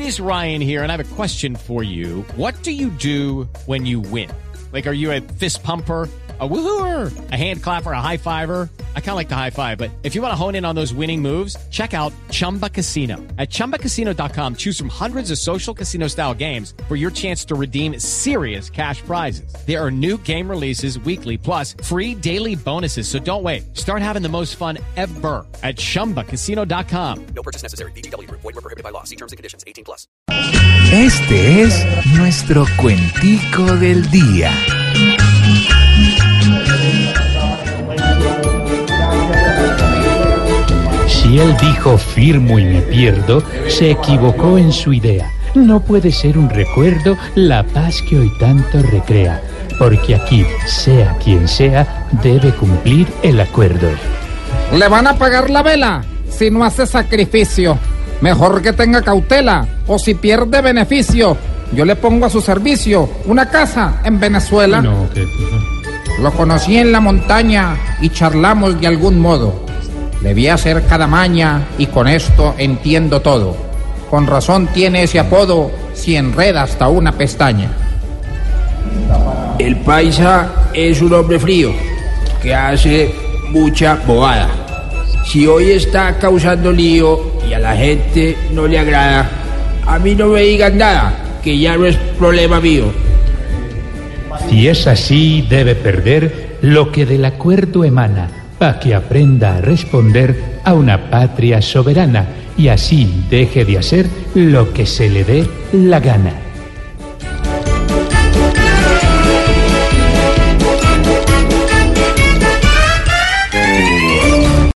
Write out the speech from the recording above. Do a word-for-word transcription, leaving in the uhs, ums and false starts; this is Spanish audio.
is Ryan here, and I have a question for you. What do you do when you win? Like, are you a fist pumper, a woohooer, a hand clapper, a high fiver? I kind of like the high five, but if you want to hone in on those winning moves, check out Chumba Casino. At chumba casino dot com, choose from hundreds of social casino style games for your chance to redeem serious cash prizes. There are new game releases weekly, plus free daily bonuses. So don't wait. Start having the most fun ever at chumba casino dot com. No purchase necessary. V G W Group. Void where prohibited by law. See terms and conditions. eighteen plus. Este es nuestro cuentico del día. Si él dijo firmo y me pierdo, se equivocó en su idea. No puede ser un recuerdo la paz que hoy tanto recrea, porque aquí, sea quien sea, debe cumplir el acuerdo. Le van a pagar la vela si no hace sacrificio. Mejor que tenga cautela, o si pierde beneficio, yo le pongo a su servicio una casa en Venezuela. No, que... Lo conocí en la montaña y charlamos de algún modo. Debí hacer cada maña y con esto entiendo todo. Con razón tiene ese apodo si enreda hasta una pestaña. El paisa es un hombre frío que hace mucha bobada. Si hoy está causando lío y a la gente no le agrada, a mí no me digan nada, que ya no es problema mío. Si es así, debe perder lo que del acuerdo emana, para que aprenda a responder a una patria soberana y así deje de hacer lo que se le dé la gana.